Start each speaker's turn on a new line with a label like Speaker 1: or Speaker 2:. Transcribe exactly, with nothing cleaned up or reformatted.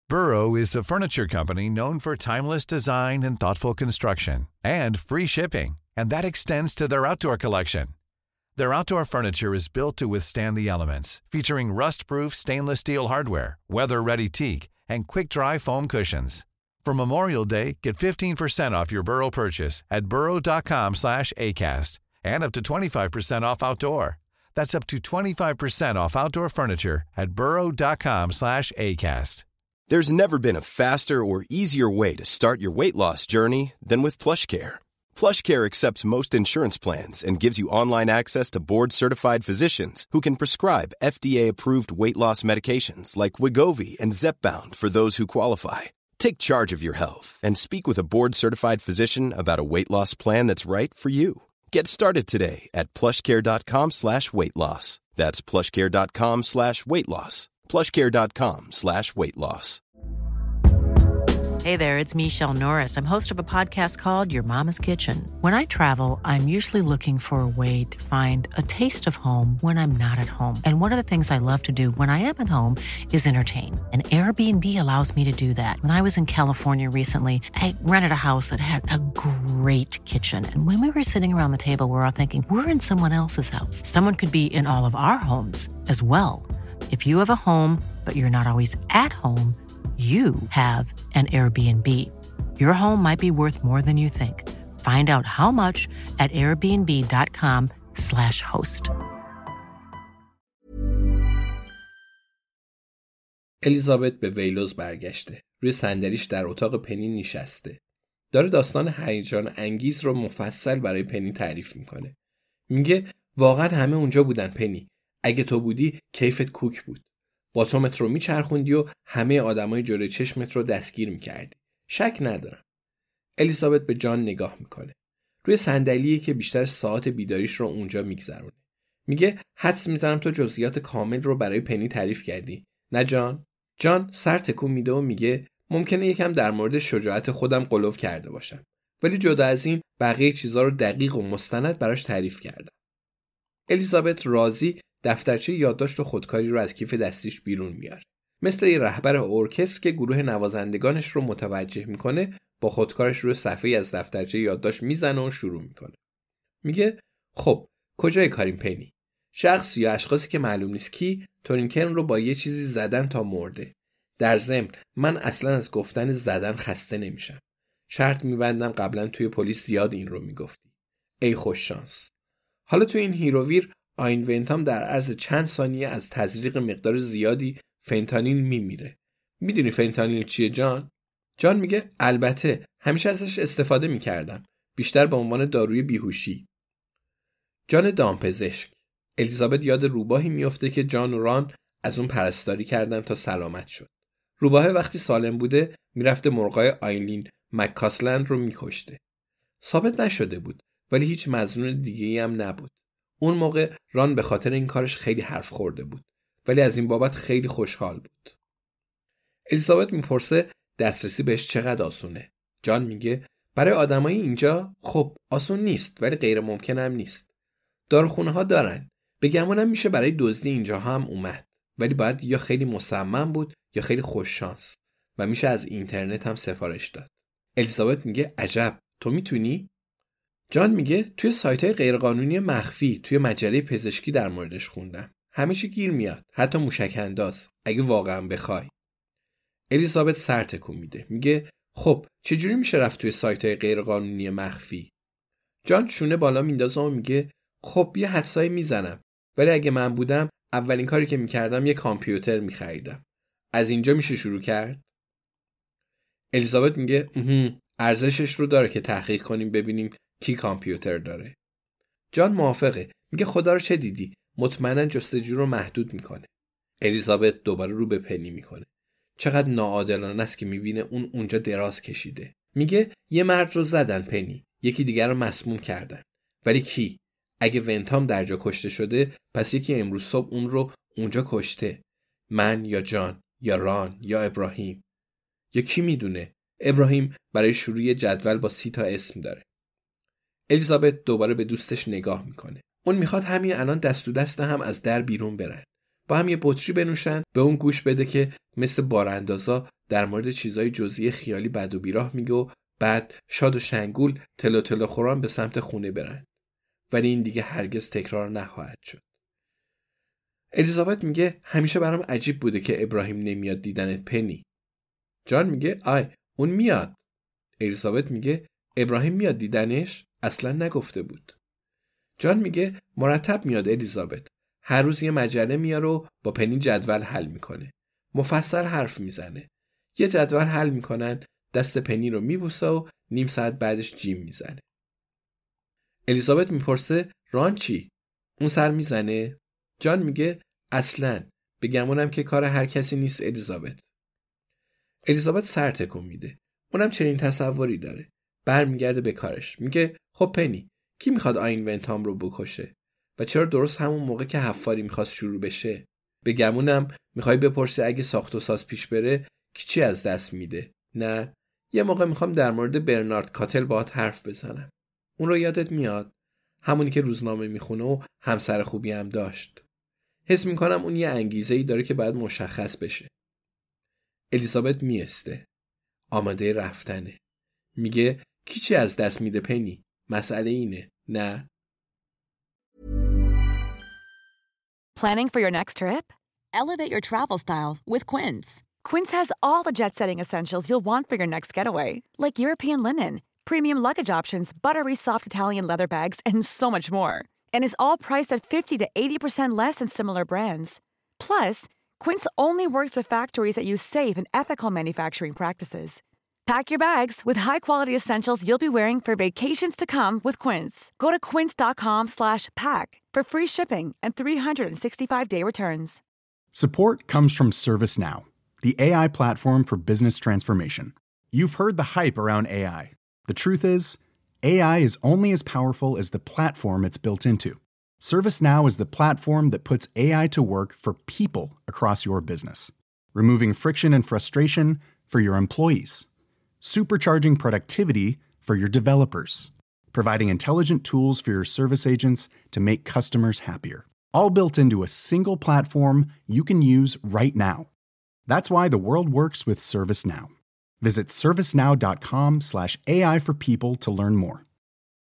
Speaker 1: Burrow is a furniture company known for timeless design and thoughtful construction, and free shipping, and that extends to their outdoor collection. Their outdoor furniture is built to withstand the elements, featuring rust-proof stainless steel hardware, weather-ready teak, and quick-dry foam cushions. For Memorial Day, get fifteen percent off your Burrow purchase at burrow.com slash ACAST and up to twenty-five percent off outdoor. That's up to twenty-five percent off outdoor furniture at burrow.com slash ACAST.
Speaker 2: There's never been a faster or easier way to start your weight loss journey than with PlushCare. PlushCare accepts most insurance plans and gives you online access to board-certified physicians who can prescribe F D A-approved weight loss medications like Wegovy and Zepbound for those who qualify. Take charge of your health and speak with a board-certified physician about a weight loss plan that's right for you. Get started today at plushcare.com slash weight loss. That's plushcare.com slash weight loss. plushcare.com slash weight loss.
Speaker 3: Hey there, it's Michelle Norris. I'm host of a podcast called Your Mama's Kitchen. When I travel, I'm usually looking for a way to find a taste of home when I'm not at home. And one of the things I love to do when I am at home is entertain. And Airbnb allows me to do that. When I was in California recently, I rented a house that had a great kitchen. And when we were sitting around the table, we were all thinking, we're in someone else's house. Someone could be in all of our homes as well. If you have a home, but you're not always at home, you have an Airbnb. Your home might be worth more than you think. Find out how much at airbnb.com slash host.
Speaker 4: الیزابت به ویلوز برگشته. روی صندلیش در اتاق پنی نشسته. داره داستان هیجان انگیز رو مفصل برای پنی تعریف میکنه. میگه واقعا همه اونجا بودن پنی. اگه تو بودی کیفت کوک بود. باتومت رو میچرخوندی و همه آدمای جلوی چشمت رو دستگیر میکردی. شک ندارم. الیزابت به جان نگاه میکنه. روی صندلیه که بیشتر ساعت بیداریش رو اونجا میگذرونه. میگه حدس میزنم تو جزئیات کامل رو برای پنی تعریف کردی. نه جان؟ جان سر تکون میده و میگه ممکنه یکم در مورد شجاعت خودم غلو کرده باشم. ولی جدا از این بقیه چیزا رو دقیق و مستند براش تعریف کردم. الیزابت راضی دفترچه یادداشت و خودکاری رو از کیف دستیش بیرون میاره. مثل یه رهبر ارکستر که گروه نوازندگانش رو متوجه میکنه، با خودکارش روی صفحه‌ای از دفترچه یادداشت میزنه و شروع میکنه. میگه خب کجای کاریم پنی؟ شخص یا اشخاصی که معلوم نیست کی تورینکرن رو با یه چیزی زدن تا مرده. در ضمن من اصلا از گفتن زدن خسته نمیشم. شرط میبندم قبلا توی پلیس زیاد این رو میگفتی. ای خوش شانس. حالا توی این هیروویر آین ونتام در عرض چند ثانیه از تزریق مقدار زیادی فنتانیل میمیره. میدونی فنتانیل چیه جان؟ جان میگه البته همیشه ازش استفاده میکردم. بیشتر به عنوان داروی بیهوشی. جان دامپزشک. الیزابت یاد روباهی میفته که جان و ران از اون پرستاری کردن تا سلامت شد. روباه وقتی سالم بوده میرفته مرغای آیلین مککاسلند رو میکشته. ثابت نشده بود ولی هیچ مظنون دیگه‌ای هم نبود. اون موقع ران به خاطر این کارش خیلی حرف خورده بود ولی از این بابت خیلی خوشحال بود. الیزابت میپرسه دسترسی بهش چقدر آسونه. جان میگه برای آدمای اینجا خب آسون نیست ولی غیر ممکن هم نیست. داروخونه ها دارن. به گمانم میشه برای دزدی اینجا هم اومد ولی باید یا خیلی مصمم بود یا خیلی خوش شانس و میشه از اینترنت هم سفارش داد. الیزابت میگه عجب تو میتونی؟ جان میگه توی سایت‌های غیرقانونی مخفی توی مجله پزشکی در موردش خوندم. همه چی گیر میاد، حتی موشک انداز اگه واقعا بخوای. الیزابت سر تکون میده. میگه خب چجوری میشه رفت توی سایت‌های غیرقانونی مخفی؟ جان شونه بالا میندازه و میگه خب یه حدسایی میزنم ولی اگه من بودم اولین کاری که میکردم یه کامپیوتر میخریدم. از اینجا میشه شروع کرد؟ الیزابت میگه ارزشش رو داره که تحقیق کنیم ببینیم کی کامپیوتر داره. جان موافقه. میگه خدا رو چه دیدی؟ مطمئنا جستجو رو محدود میکنه. الیزابت دوباره رو به پنی میکنه. چقدر ناعادلانه است که میبینه اون اونجا دراز کشیده. میگه یه مرد رو زدن پنی، یکی دیگر رو مسموم کردن. ولی کی؟ اگه ونتام در جا کشته شده پس یکی امروز صبح اون رو اونجا کشته. من یا جان یا ران یا ابراهیم. یا کی میدونه؟ ابراهیم برای شروع جدول با سی تا اسم داره. الیزابت دوباره به دوستش نگاه میکنه. اون میخواد همین الان دست تو دست هم از در بیرون برن. با هم یه بطری بنوشن، به اون گوش بده که مثل باراندازا در مورد چیزای جزئی خیالی بد و بیراه میگه و بعد شاد و شنگول تلو تلو خوران به سمت خونه برن. ولی این دیگه هرگز تکرار نخواهد شد. الیزابت میگه همیشه برام عجیب بوده که ابراهیم نمیاد دیدنت پنی. جان میگه آی اون میاد. الیزابت میگه ابراهیم میاد دیدنش؟ اصلا نگفته بود. جان میگه مرتب میاد الیزابت. هر روز یه مجله میاره و با پنی جدول حل میکنه. مفصل حرف میزنه. یه جدول حل میکنن، دست پنی رو میبوسه و نیم ساعت بعدش جیم میزنه. الیزابت میپرسه ران چی؟ اون سر میزنه؟ جان میگه اصلاً، بگمونم که کار هر کسی نیست الیزابت. الیزابت سر تکون میده. اونم چنین تصوری داره. برمیگرده به کارش. میگه خب پنی، کی میخواد آین ونتام رو بکشه؟ و چرا درست همون موقع که حفاری میخواست شروع بشه؟ بگمونم میخوای بپرسی اگه ساخت و ساز پیش بره کی چی از دست میده؟ نه، یه موقع میخوام در مورد برنارد کاتل باهات حرف بزنم. اون رو یادت میاد؟ همونی که روزنامه میخونه و همسر خوبی هم داشت. حس میکنم اون یه انگیزه‌ای داره که باید مشخص بشه. الیزابت میسته. آماده رفتنه. میگه کی چی از دست میده پنی؟ مسئله اینه. نه.
Speaker 5: Planning for your next trip?
Speaker 6: Elevate your travel style with Quince.
Speaker 5: Quince has all the jet-setting essentials you'll want for your next getaway, like European linen, premium luggage options, buttery soft Italian leather bags, and so much more. And is all priced at fifty to eighty percent less than similar brands. Plus, Quince only works with factories that use safe and ethical manufacturing practices. Pack your bags with high-quality essentials you'll be wearing for vacations to come with Quince. Go to quince.com slash pack for free shipping and three sixty-five day returns.
Speaker 7: Support comes from ServiceNow, the A I platform for business transformation. You've heard the hype around A I. The truth is, A I is only as powerful as the platform it's built into. ServiceNow is the platform that puts A I to work for people across your business, removing friction and frustration for your employees, supercharging productivity for your developers, providing intelligent tools for your service agents to make customers happier, all built into a single platform you can use right now. That's why the world works with ServiceNow. Visit servicenow.com slash AI for people to learn more.